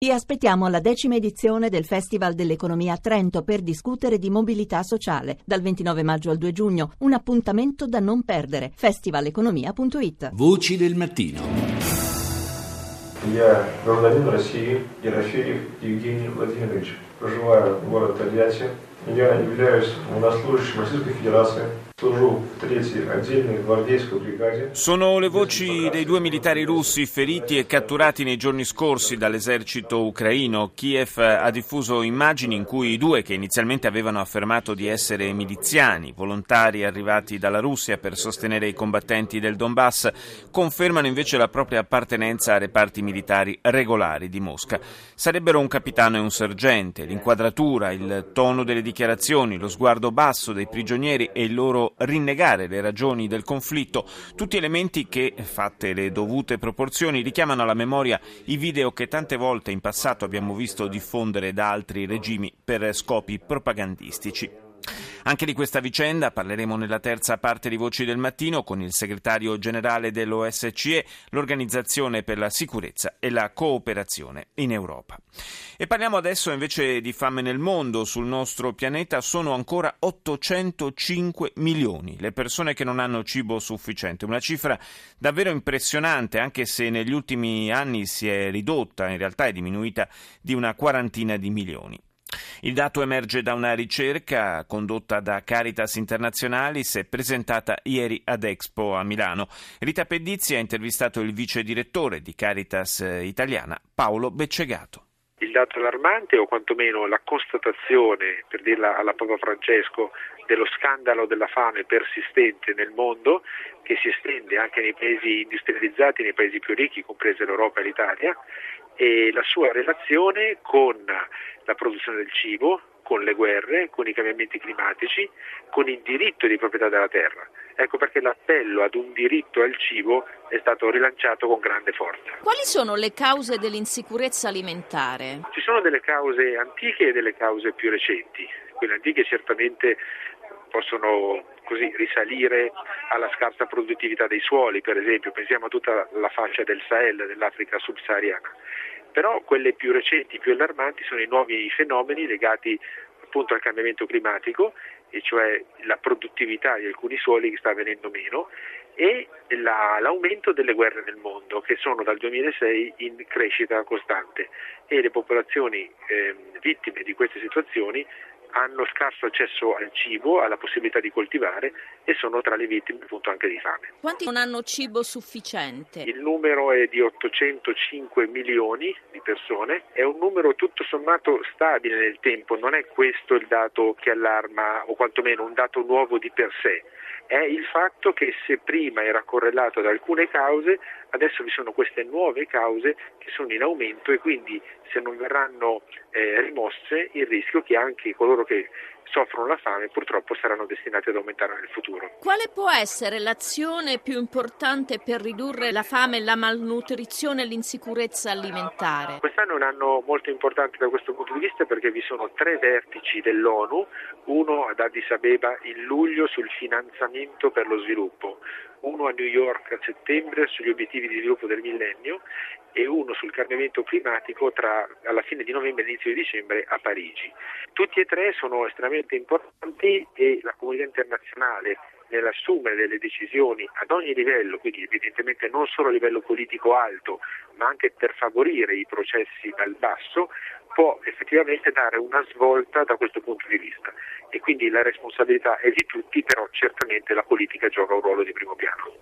Vi aspettiamo alla 10ª edizione del Festival dell'Economia a Trento per discutere di mobilità sociale. Dal 29 maggio al 2 giugno, un appuntamento da non perdere. festivaleconomia.it. Voci del mattino. Я гражданин России, Ерофеев Евгений Владимирович. Проживаю в городе Тольятти. Я являюсь военнослужащим Российской Федерации. Служу в 3-й отдельной гвардейской бригаде. Sono le voci dei 2 militari russi feriti e catturati nei giorni scorsi dall'esercito ucraino. Kiev ha diffuso immagini in cui i due, che inizialmente avevano affermato di essere miliziani, volontari arrivati dalla Russia per sostenere i combattenti del Donbass, confermano invece la propria appartenenza a reparti militari regolari di Mosca. Sarebbero un capitano e un sergente. L'inquadratura, il tono delle dichiarazioni, lo sguardo basso dei prigionieri e il loro rinnegare le ragioni del conflitto, tutti elementi che, fatte le dovute proporzioni, richiamano alla memoria i video che tante volte in passato abbiamo visto diffondere da altri regimi per scopi propagandistici. Anche di questa vicenda parleremo nella terza parte di Voci del Mattino con il segretario generale dell'OSCE, l'Organizzazione per la Sicurezza e la Cooperazione in Europa. E parliamo adesso invece di fame nel mondo. Sul nostro pianeta sono ancora 805 milioni le persone che non hanno cibo sufficiente, una cifra davvero impressionante, anche se negli ultimi anni si è ridotta, in realtà è diminuita di una quarantina di milioni. Il dato emerge da una ricerca condotta da Caritas Internationalis e presentata ieri ad Expo a Milano. Rita Pedizzi ha intervistato il vice direttore di Caritas Italiana, Paolo Beccegato. Il dato allarmante, o quantomeno la constatazione, per dirla alla Papa Francesco, dello scandalo della fame persistente nel mondo, che si estende anche nei paesi industrializzati, nei paesi più ricchi, comprese l'Europa e l'Italia, e la sua relazione con la produzione del cibo, con le guerre, con i cambiamenti climatici, con il diritto di proprietà della terra. Ecco perché l'appello ad un diritto al cibo è stato rilanciato con grande forza. Quali sono le cause dell'insicurezza alimentare? Ci sono delle cause antiche e delle cause più recenti. Quelle antiche certamente possono così risalire alla scarsa produttività dei suoli, per esempio, pensiamo a tutta la fascia del Sahel, dell'Africa subsahariana. Però quelle più recenti, più allarmanti, sono i nuovi fenomeni legati appunto al cambiamento climatico, e cioè la produttività di alcuni suoli che sta venendo meno, e l'aumento delle guerre nel mondo, che sono dal 2006 in crescita costante, e le popolazioni vittime di queste situazioni hanno scarso accesso al cibo, alla possibilità di coltivare, e sono tra le vittime appunto anche di fame. Quanti non hanno cibo sufficiente? Il numero è di 805 milioni di persone, è un numero tutto sommato stabile nel tempo, non è questo il dato che allarma, o quantomeno un dato nuovo di per sé. È il fatto che se prima era correlato ad alcune cause, adesso vi sono queste nuove cause che sono in aumento, e quindi se non verranno rimosse, il rischio che anche coloro che soffrono la fame purtroppo saranno destinati ad aumentare nel futuro. Quale può essere l'azione più importante per ridurre la fame, la malnutrizione e l'insicurezza alimentare? Quest'anno è un anno molto importante da questo punto di vista, perché vi sono 3 vertici dell'ONU, uno ad Addis Abeba in luglio sul finanziamento per lo sviluppo, uno a New York a settembre sugli obiettivi di sviluppo del millennio, e uno sul cambiamento climatico alla fine di novembre e inizio di dicembre a Parigi. Tutti e 3 sono estremamente importanti, e la comunità internazionale, nell'assumere delle decisioni ad ogni livello, quindi evidentemente non solo a livello politico alto, ma anche per favorire i processi dal basso, può effettivamente dare una svolta da questo punto di vista, e quindi la responsabilità è di tutti, però certamente la politica gioca un ruolo di primo piano.